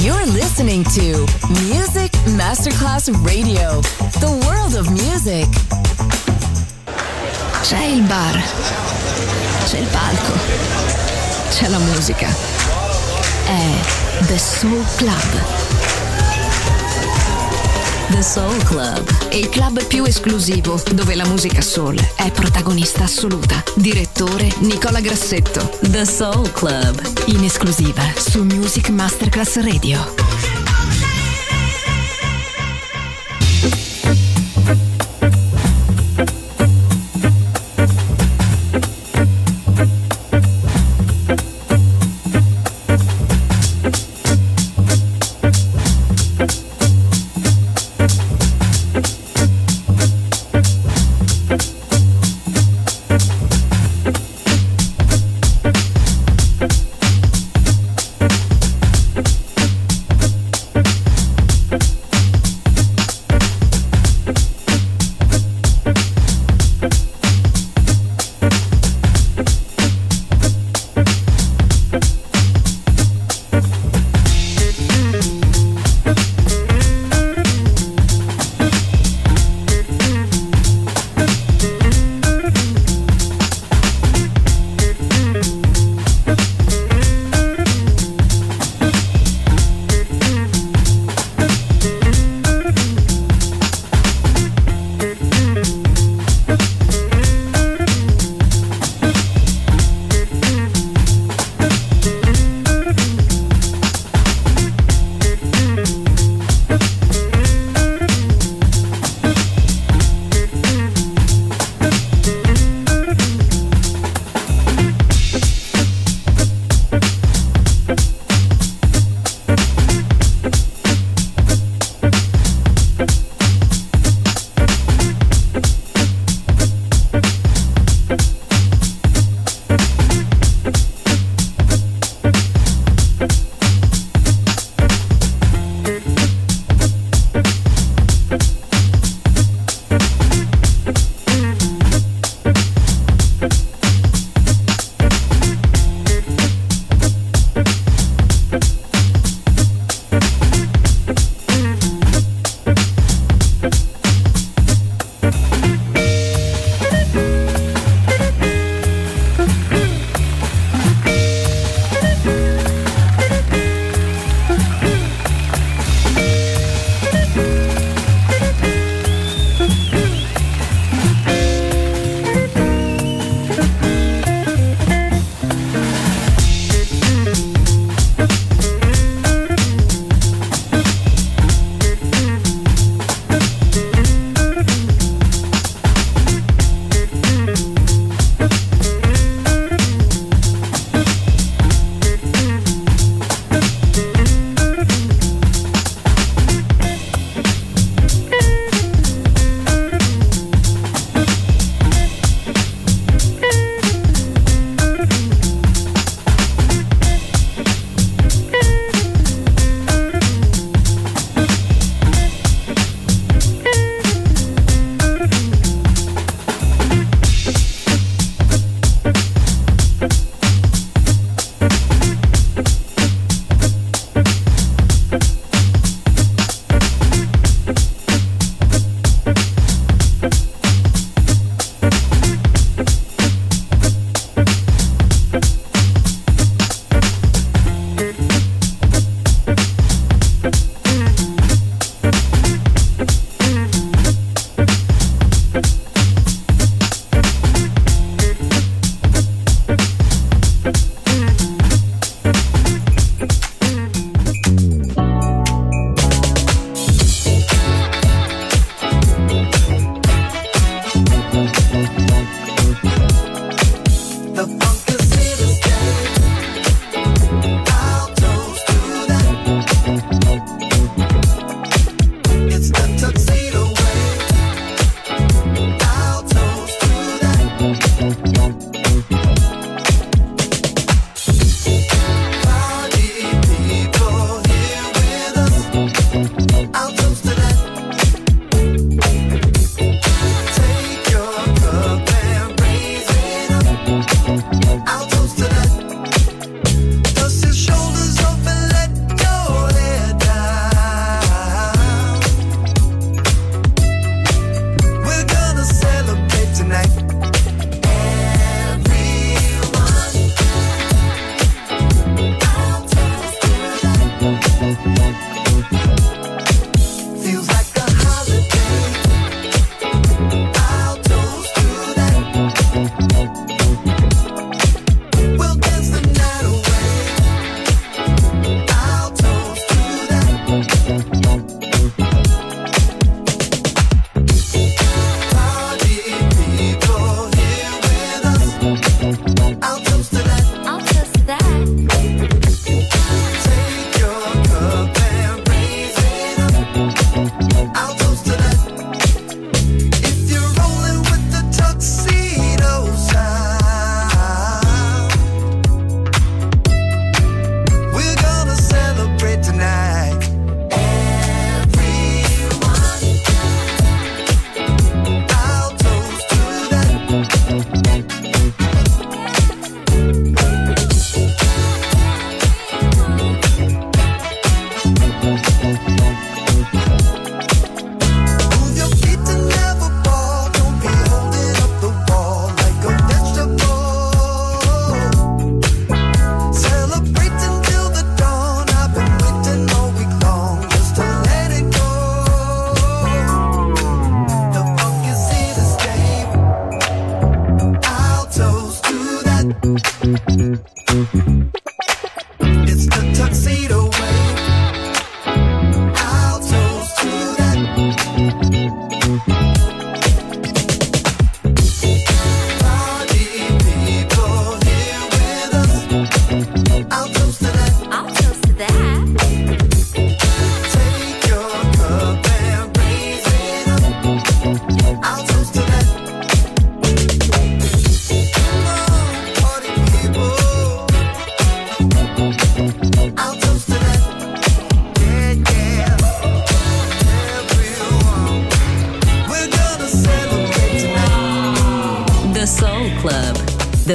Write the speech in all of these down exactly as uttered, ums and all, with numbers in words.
You're listening to Music Masterclass Radio, the world of music. C'è il bar, c'è il palco, c'è la musica. È The Soul Club. The Soul Club, il club più esclusivo dove la musica soul è protagonista assoluta. Direttore Nicola Grassetto. The Soul Club, in esclusiva su Music Masterclass Radio.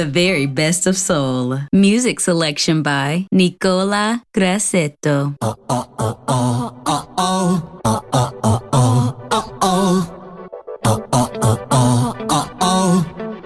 very best of soul. Music selection by Nicola Grassetto. Oh, oh, oh, oh, oh, oh, oh, oh, oh, oh, oh, oh, oh, oh, oh, oh, oh, oh.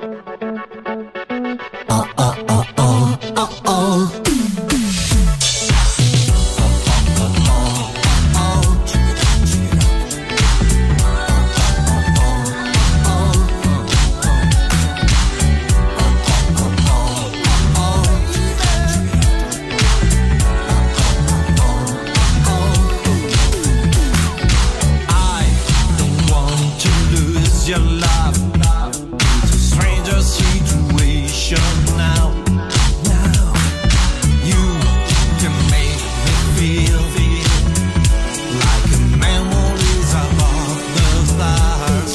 Your love, it's a stranger situation now. Now you can make me feel, feel like a memories above the stars.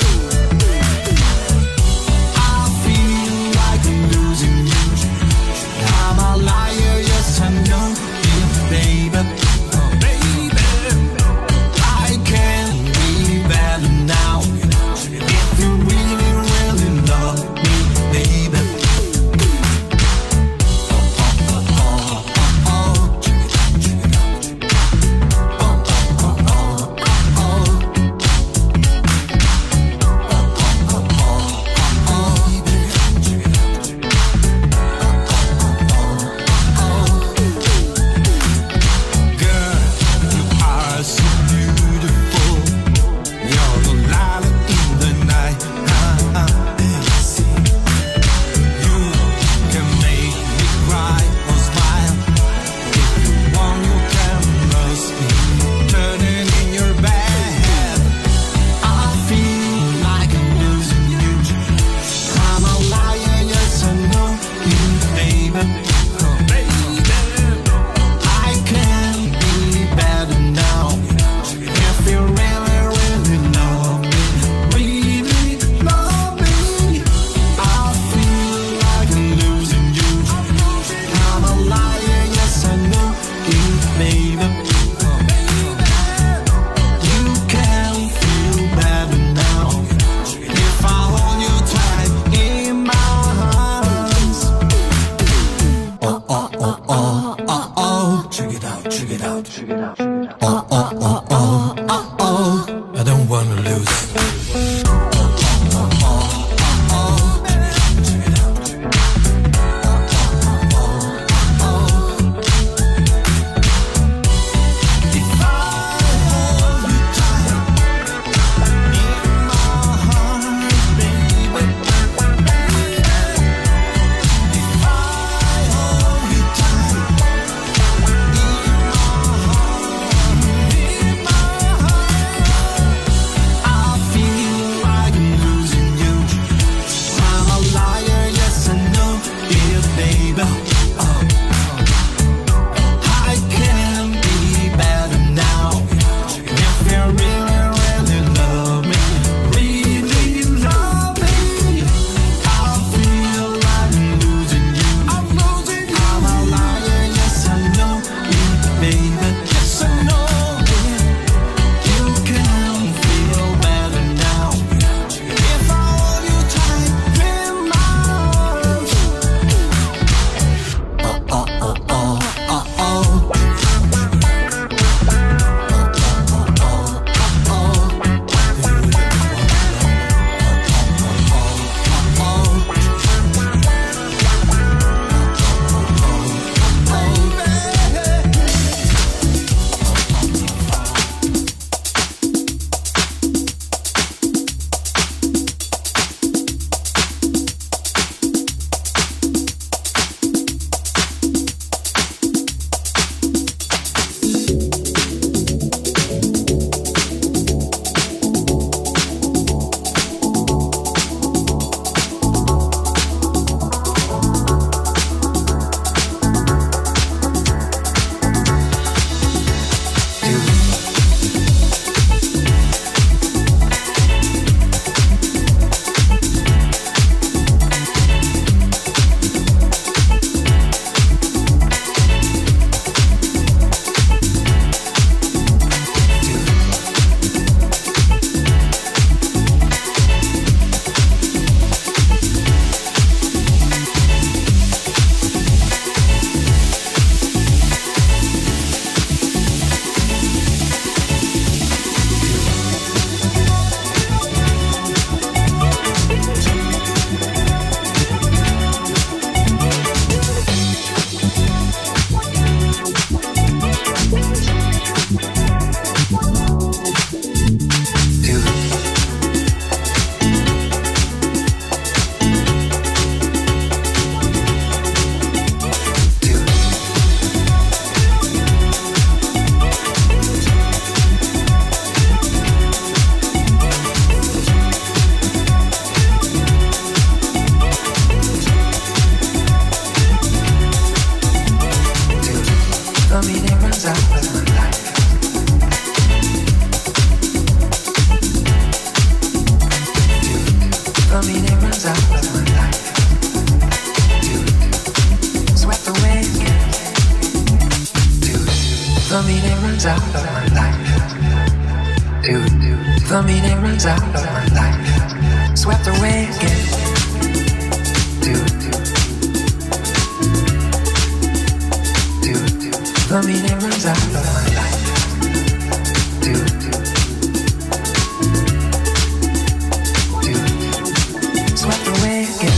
I feel like I'm losing you. I'm a liar, yes I know it, baby. Oh, baby, I can't be better now. You really, really love me, baby. Oh, oh, oh, oh, oh, check it out, check it out. Oh, oh, oh, oh, oh, oh. Oh, oh, oh, oh, oh, baby, check it out, check it out. Oh, oh, oh, oh. Girl, you are so beautiful. You're the light in the night. You can make me cry or smile. If you want, you can trust me. Turning in your bed, I feel like I'm losing you. I'm a liar, yes I know you, baby. Oh, baby, I can't be better now. If you really, really love me, really love me, I feel like I'm losing you. I'm a liar, yes I know you, baby. Oh, you can feel better now if I hold you tight in my arms. Oh, oh, oh, oh, oh, oh. Check it out, check it out, check it out, check it out. Oh, oh, oh, oh, oh, oh. I don't wanna lose. The meaning runs out of my life. The meaning runs out of my life. Swept away again. The meaning runs out of my life. The meaning runs out of my life. Swept away again. The meaning runs out of my life. Swept away again.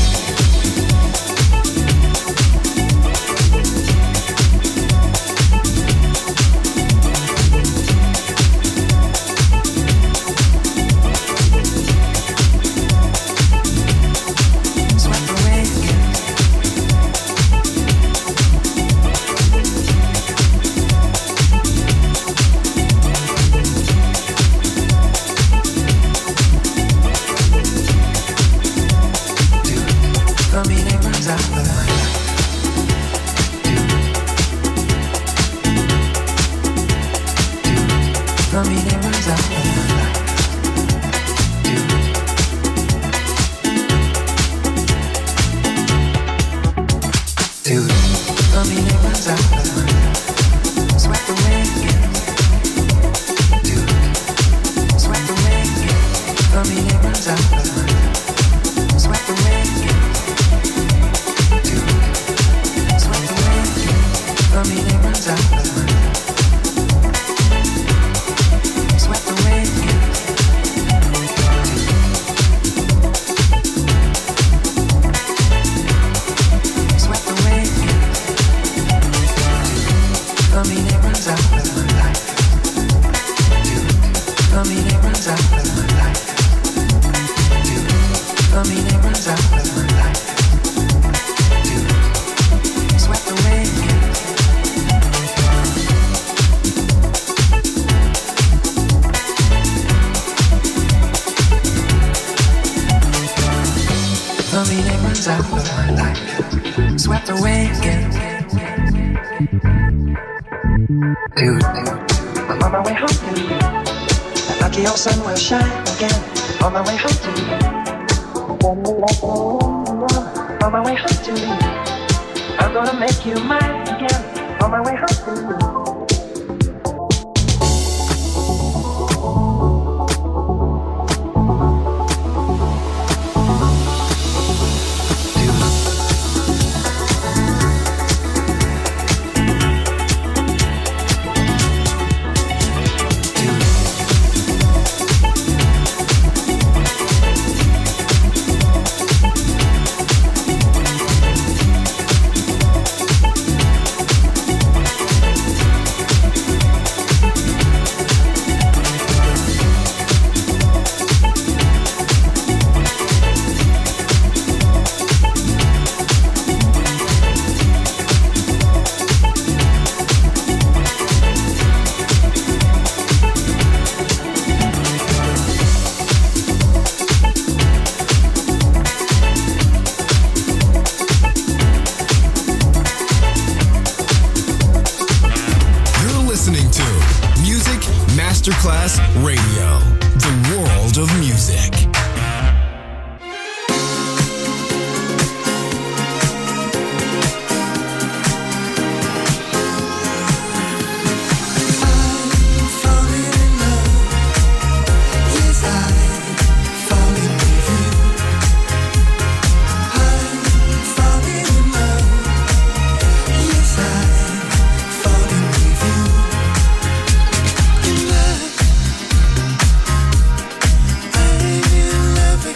Masterclass Radio, the world of music. Love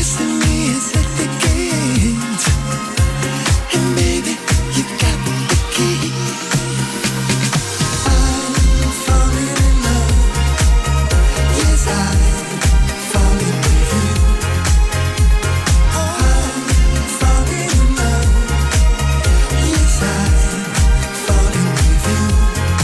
destiny is at the gate, and baby, you got the key. I'm falling in love, yes I'm falling with you. I'm falling in love, yes I'm falling with you.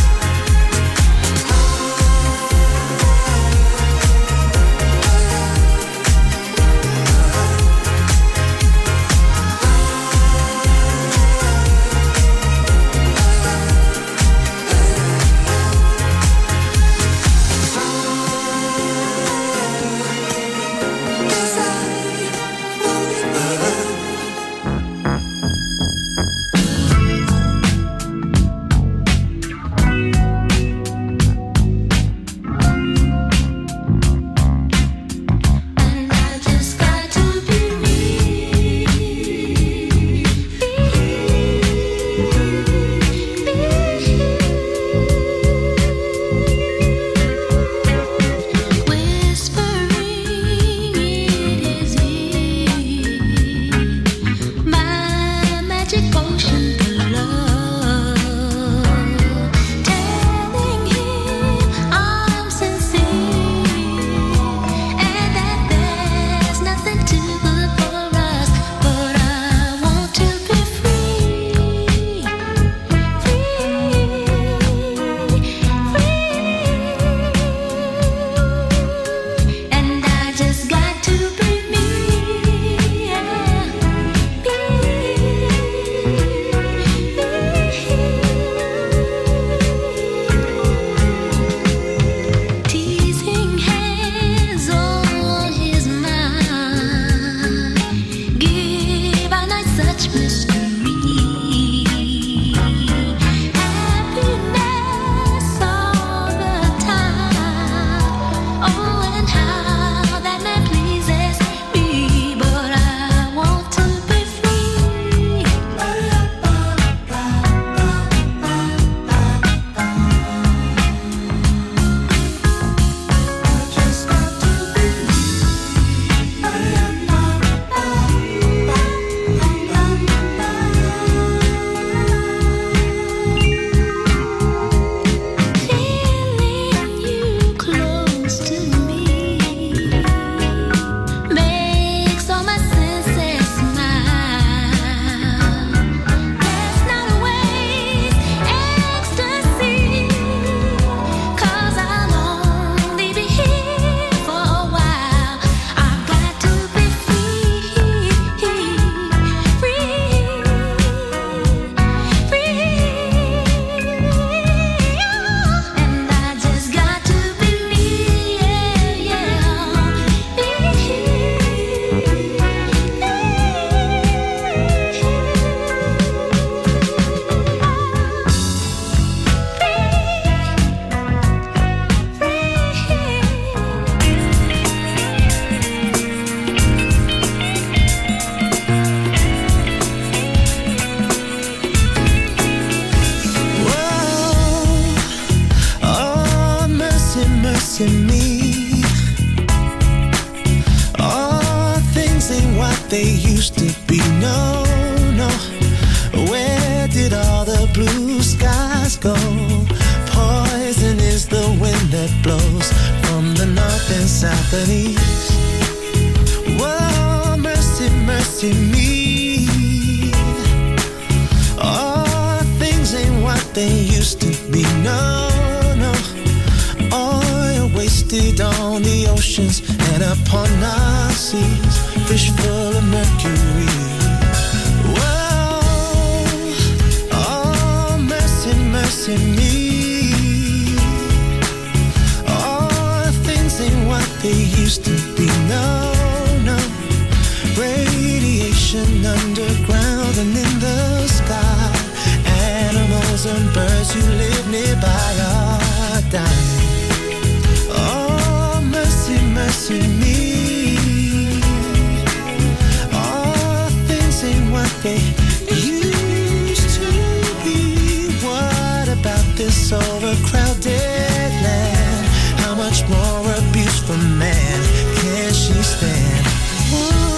Overcrowded land, how much more abuse from man can she stand? Ooh.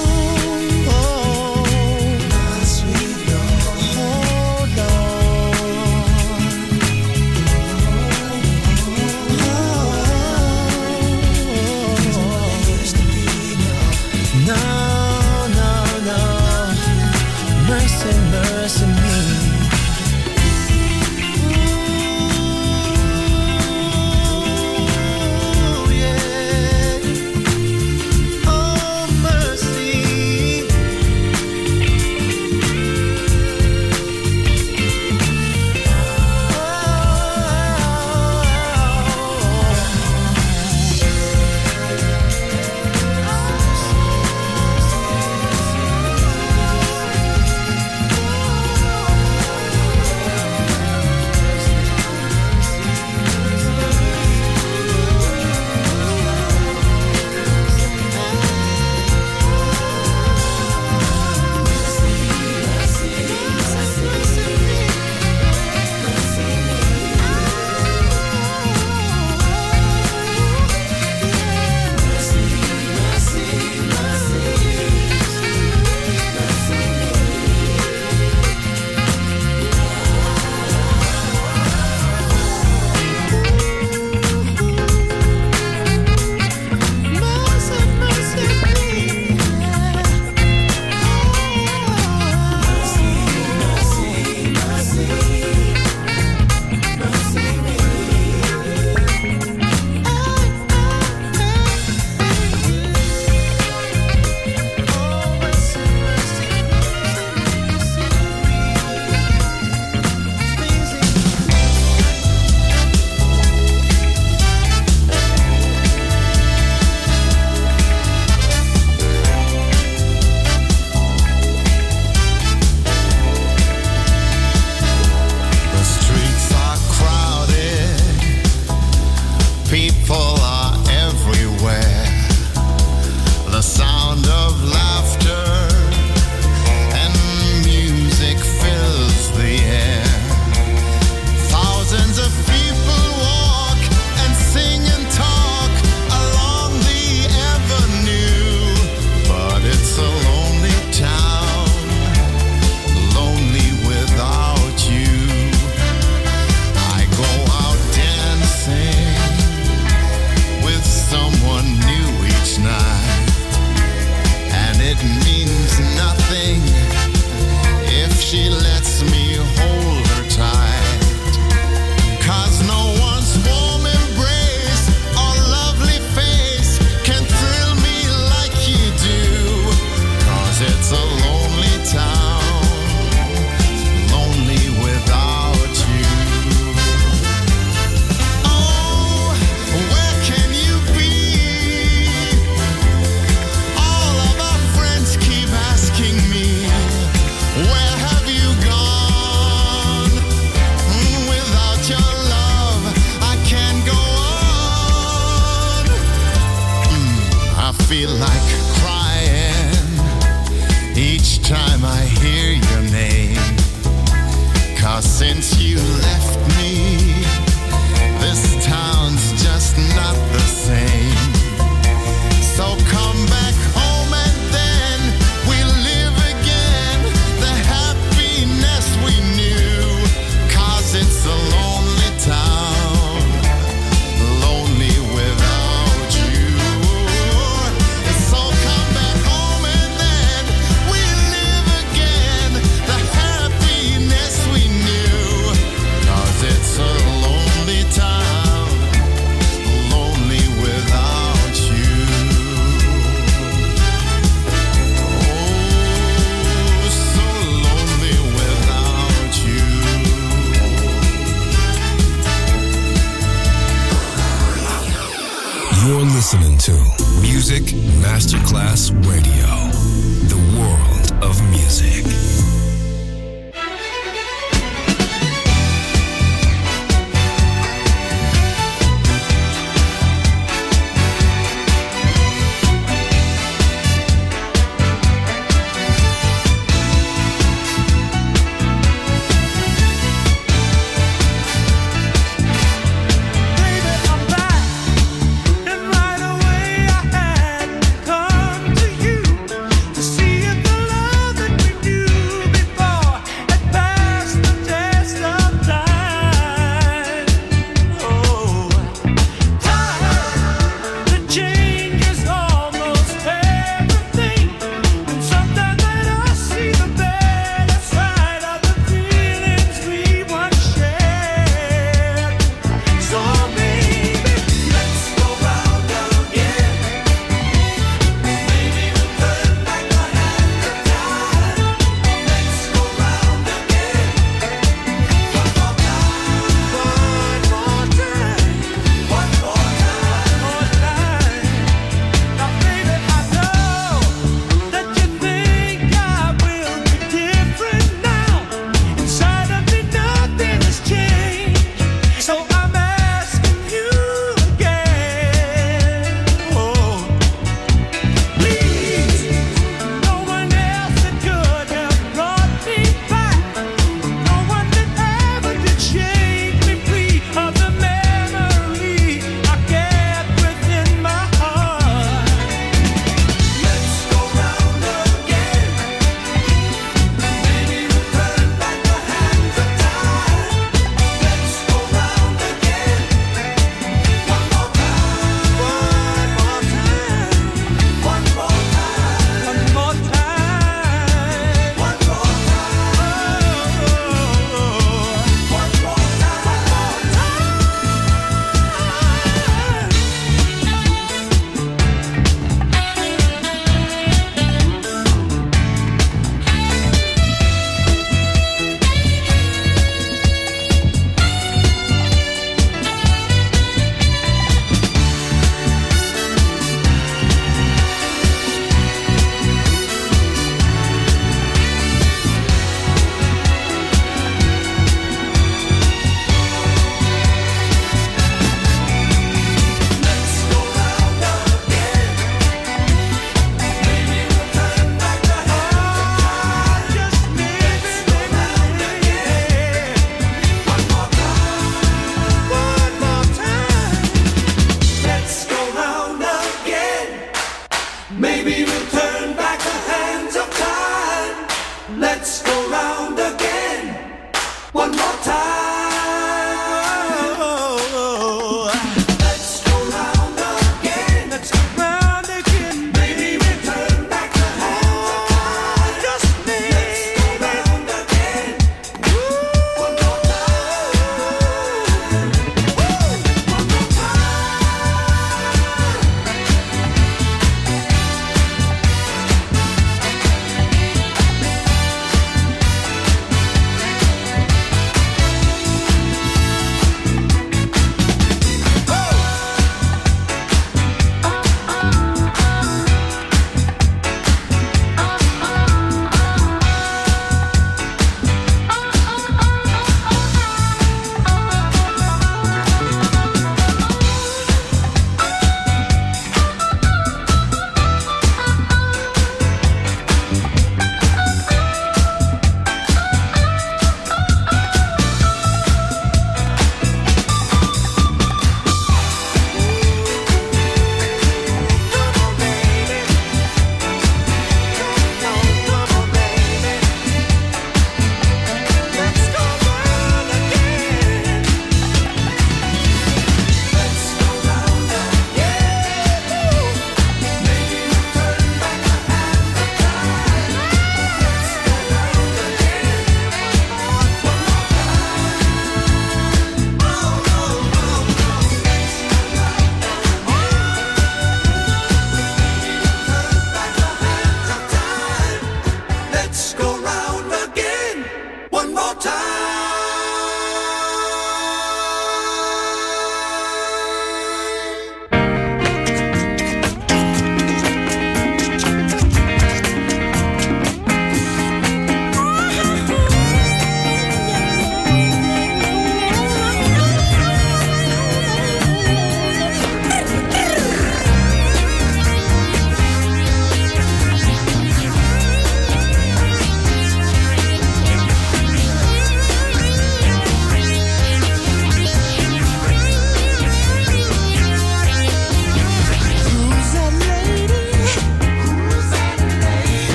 mercy me. You're listening to Music Masterclass Radio, the world of music. Baby, I'm back, and right away I had to come to you.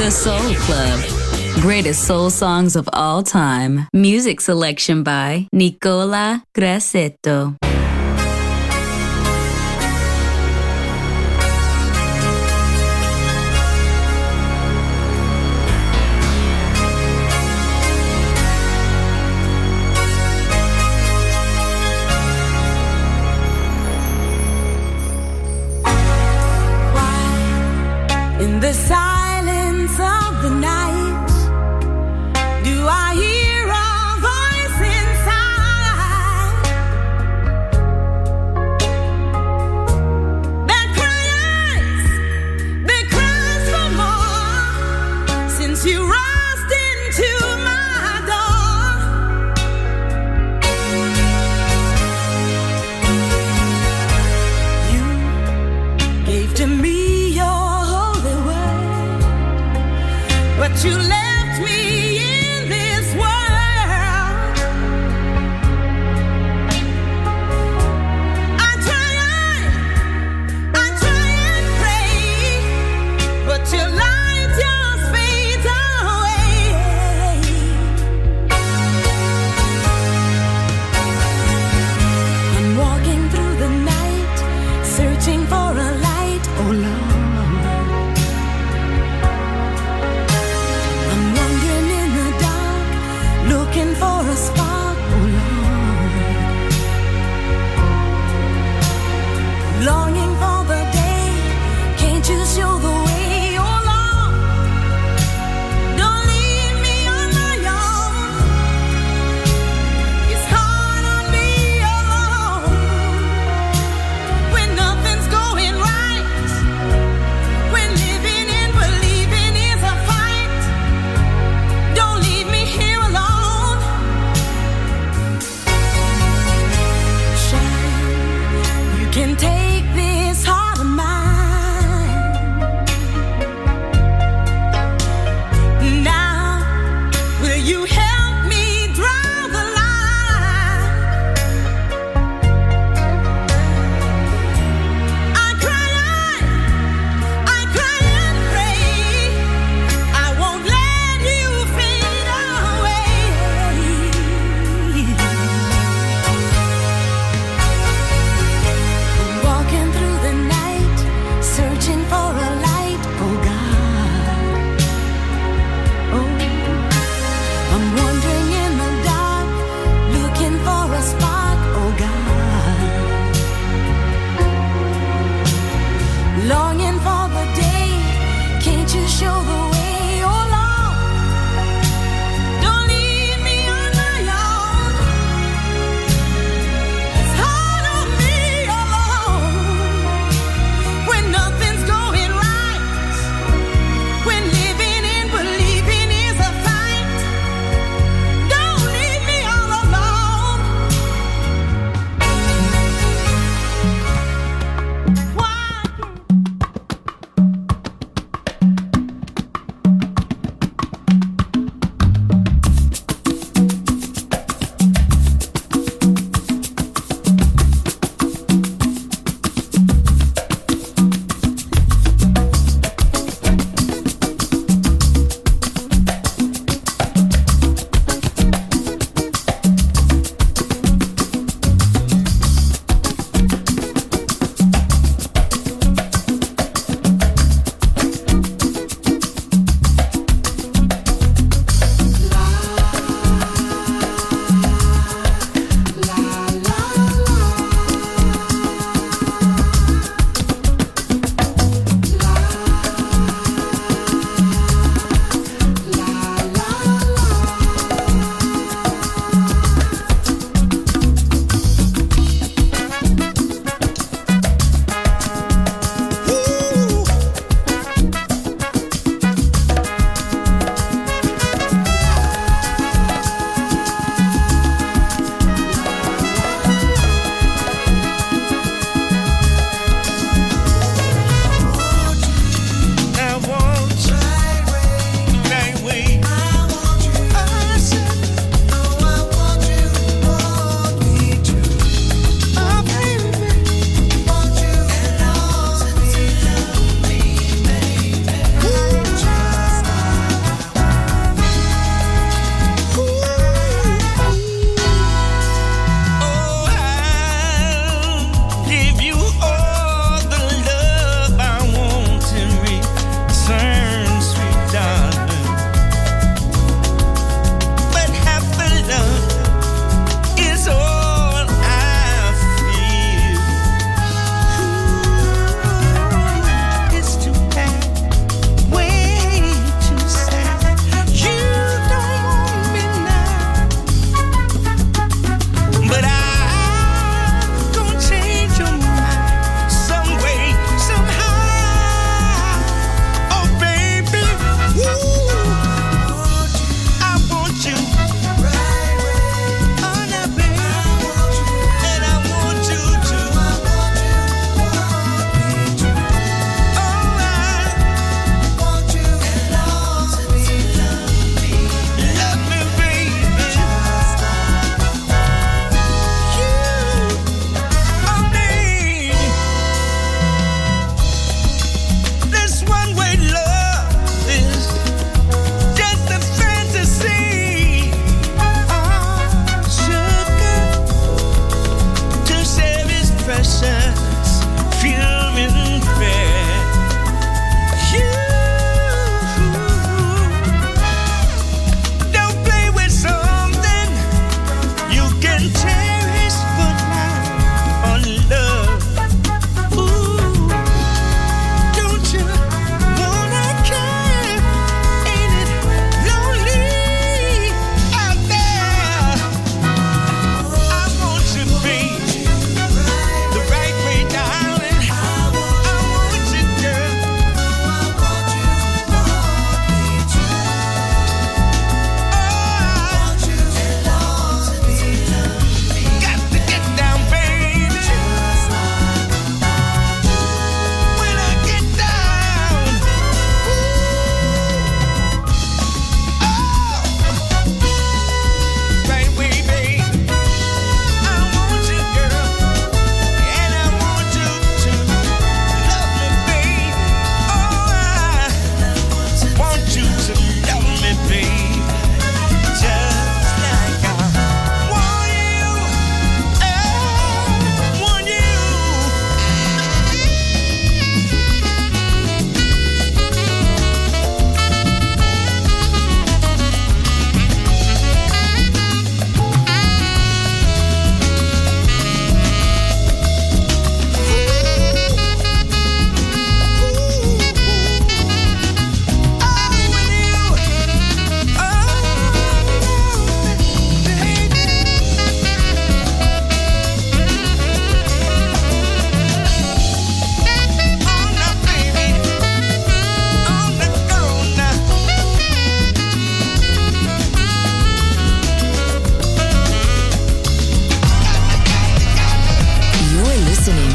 The Soul Club. Greatest soul songs of all time. Music selection by Nicola Grassetto. In the silence of the night, do I hear a voice inside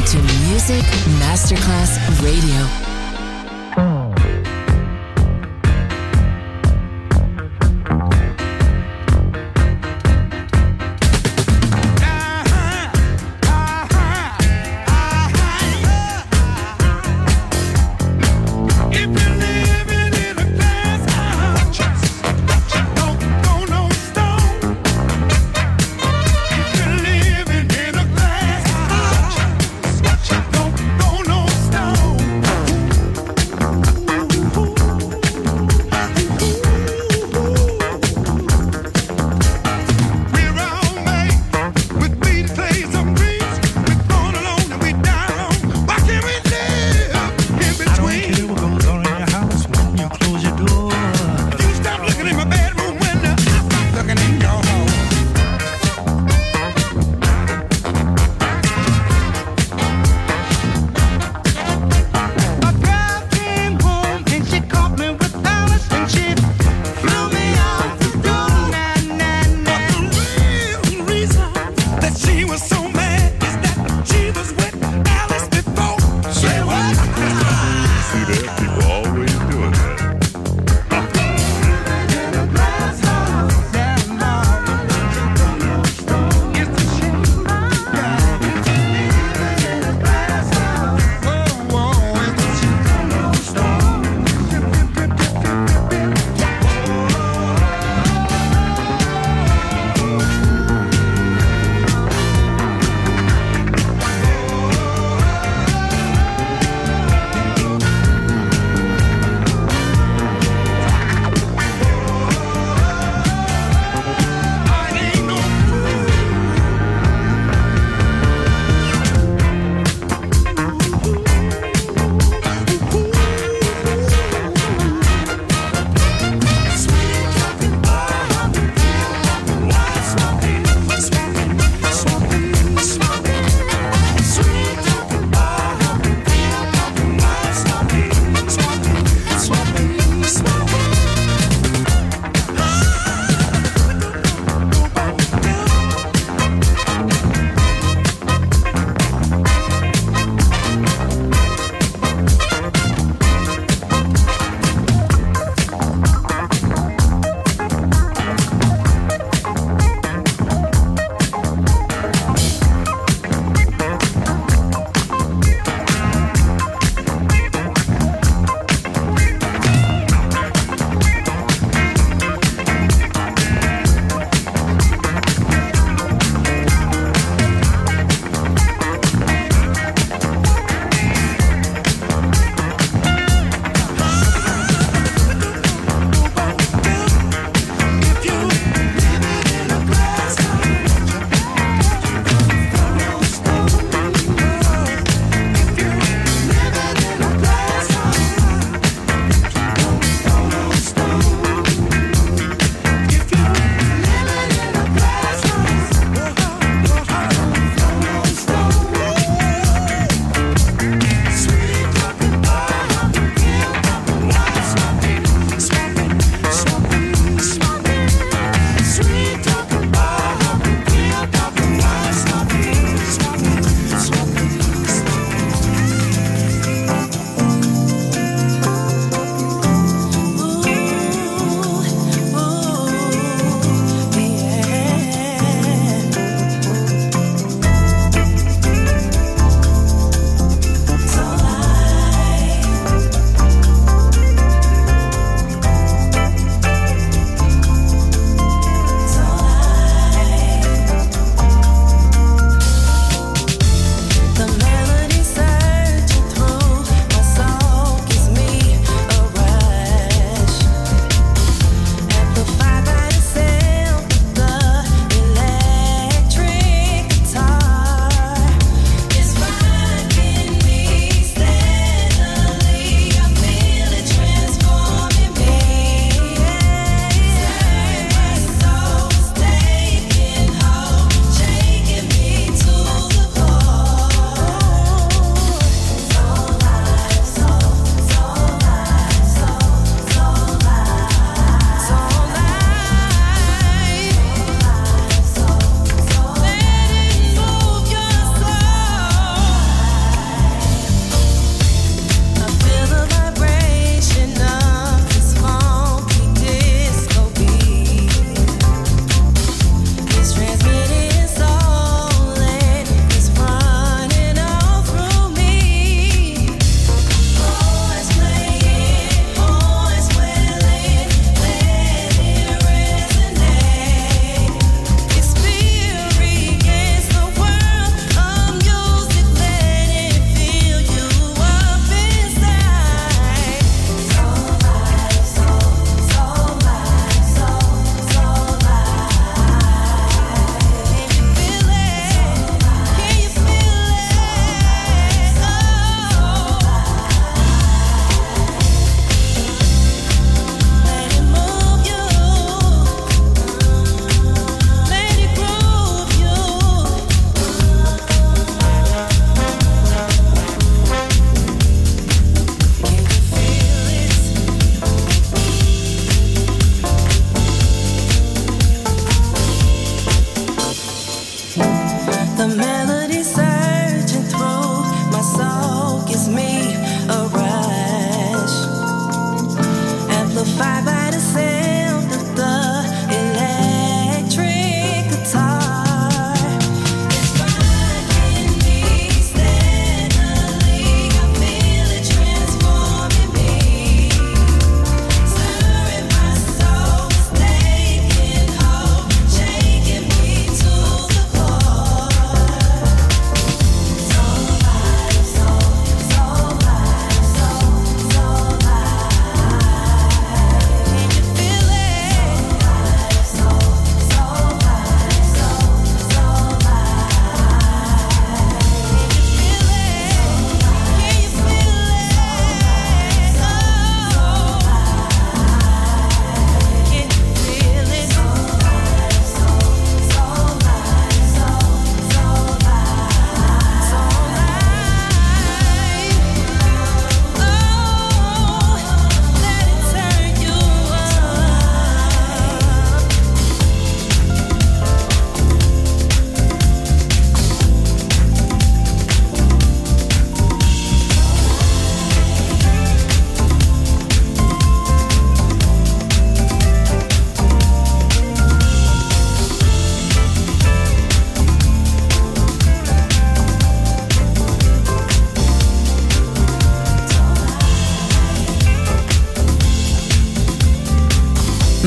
to Music Masterclass Radio. Don't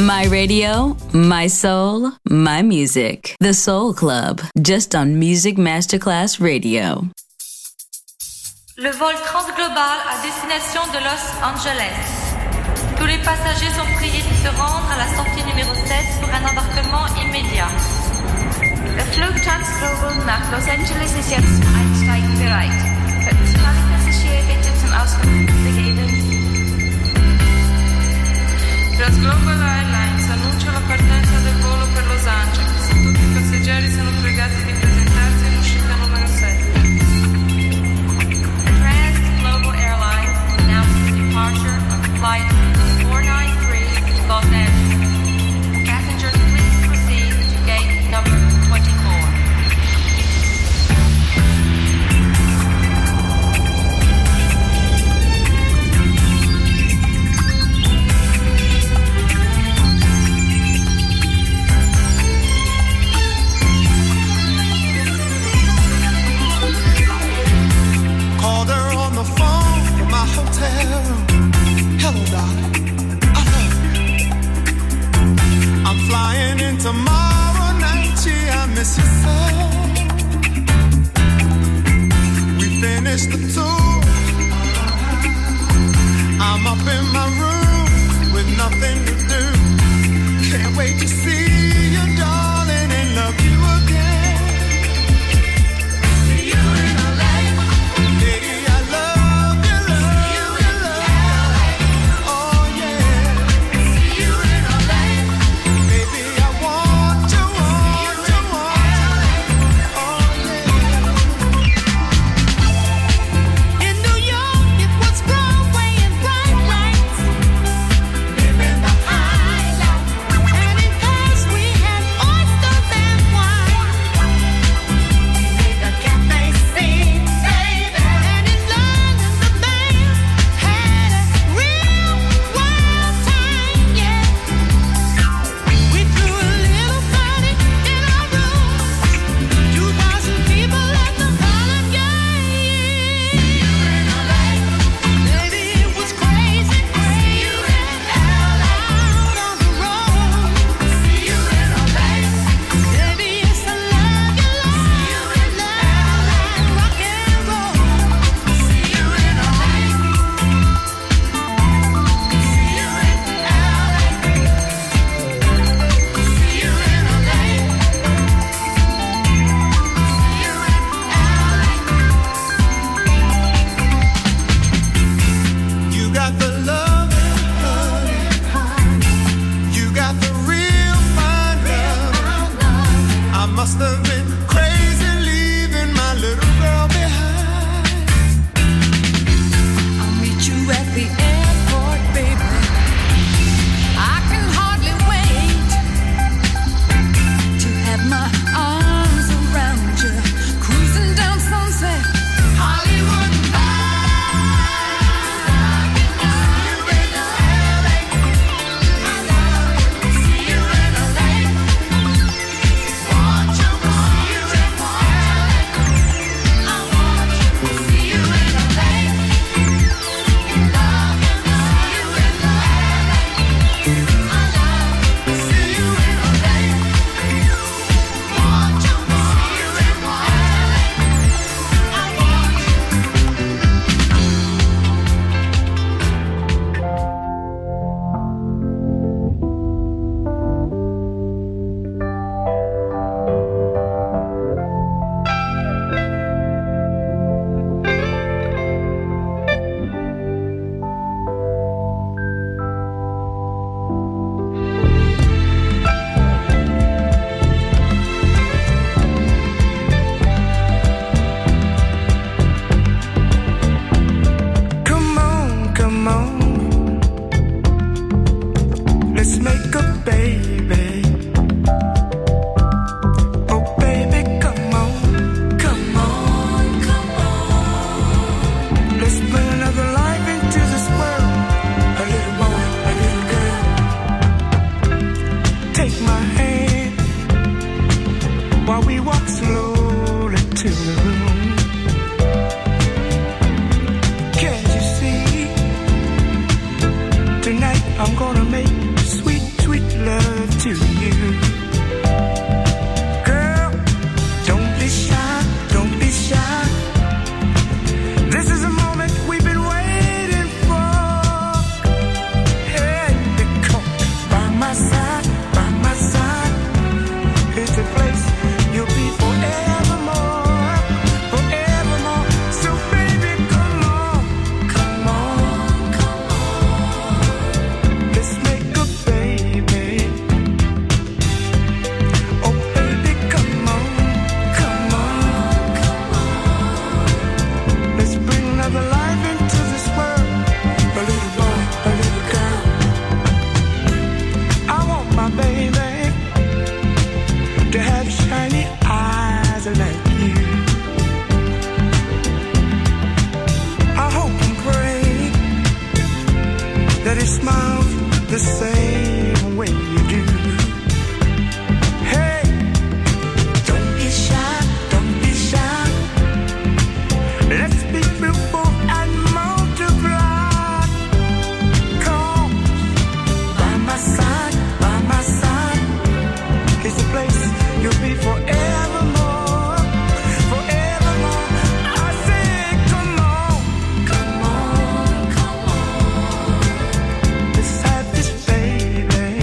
My radio, my soul, my music. The Soul Club, just on Music Masterclass Radio. Le vol transglobal à destination de Los Angeles. Tous les passagers sont priés de se rendre à la sortie numéro sept pour un embarquement immédiat. Der Flug Transglobal nach Los Angeles ist jetzt zum Einsteigen bereit. Könnten Sie alle Passagiere bitte zum Ausgang begeben? Transglobal Airlines annuncia la partenza del volo per Los Angeles. Tutti i passeggeri sono pregati di presentarsi in uscita numero sette. Transglobal Airlines announces the departure of flight four ninety-three to Los Angeles. Passengers, please proceed to gate number twenty-four. Called her on the phone from my hotel room. Hello, darling, I love you. I'm flying in tomorrow night, gee, I miss you so. We finished the tour. I'm up in my room with nothing to do. Can't wait to see you, darling, and love you again. Living the high life, and in that he smiles the same way you do. Hey, don't be shy, don't be shy. Let's be fruitful and multiply. Come by my side, by my side. It's a place you'll be forevermore, forevermore. I say, come on, come on, come on. Let's have this baby.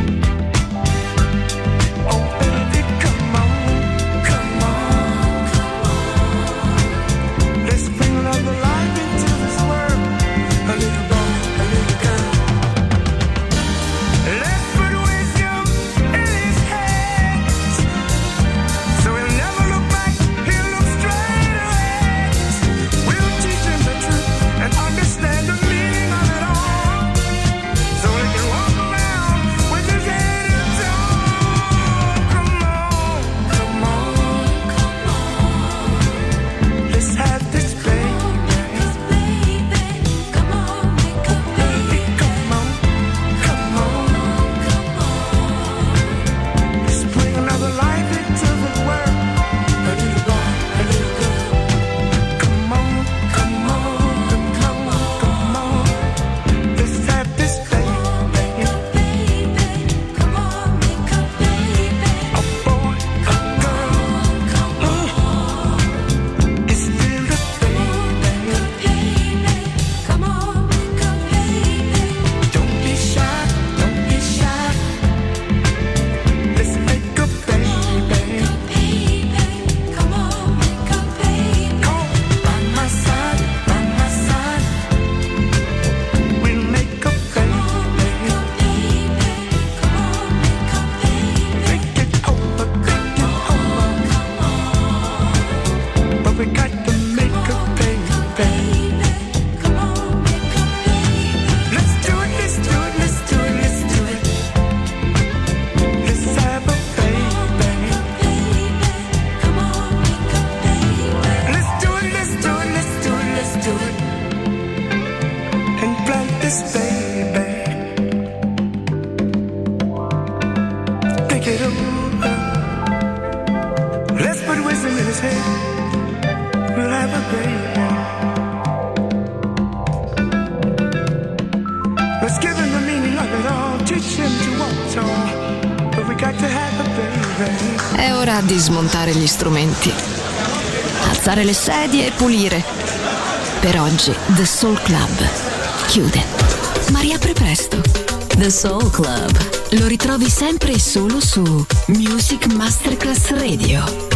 Oh baby, come on, come on, come on. Let's bring another life into this world. A little boy, a little girl. Let's put wisdom in his hands, so he'll never look back, he'll look straight ahead. We'll teach him the truth and understand the meaning of it all, so he can walk around with his head up tall. Come on, come on, come on. Let's have this baby. Come on, make a baby. Come on, come on, come on. Let's bring another life into the world. A little boy, a little girl. Come on, come on, come on, come on. Let's have this baby. Come on, make a baby. A boy, a girl. Come on. It's still a baby. Come on, make a baby. Don't be shy, don't be shy. Let's make a baby. Come on, make a baby. Come by my side, by my side. We'll make a baby. Come on, make a baby. Take it over, take it over. But we got to make a baby. Come on, make a baby. Let's do it, let's do it, let's do it, let's do it. Let's have a baby. Come on, make a baby. Let's do it, let's do it, let's do it, let's do it. And plant this baby. Take it over. Let's put wisdom in his head. We'll have a baby. Let's give him the meaning of it all. Teach him to walk tall. But we got to have a baby. È ora di smontare gli strumenti, alzare le sedie e pulire. Per oggi The Soul Club chiude, ma riapre presto. The Soul Club. Lo ritrovi sempre e solo su Music Masterclass Radio.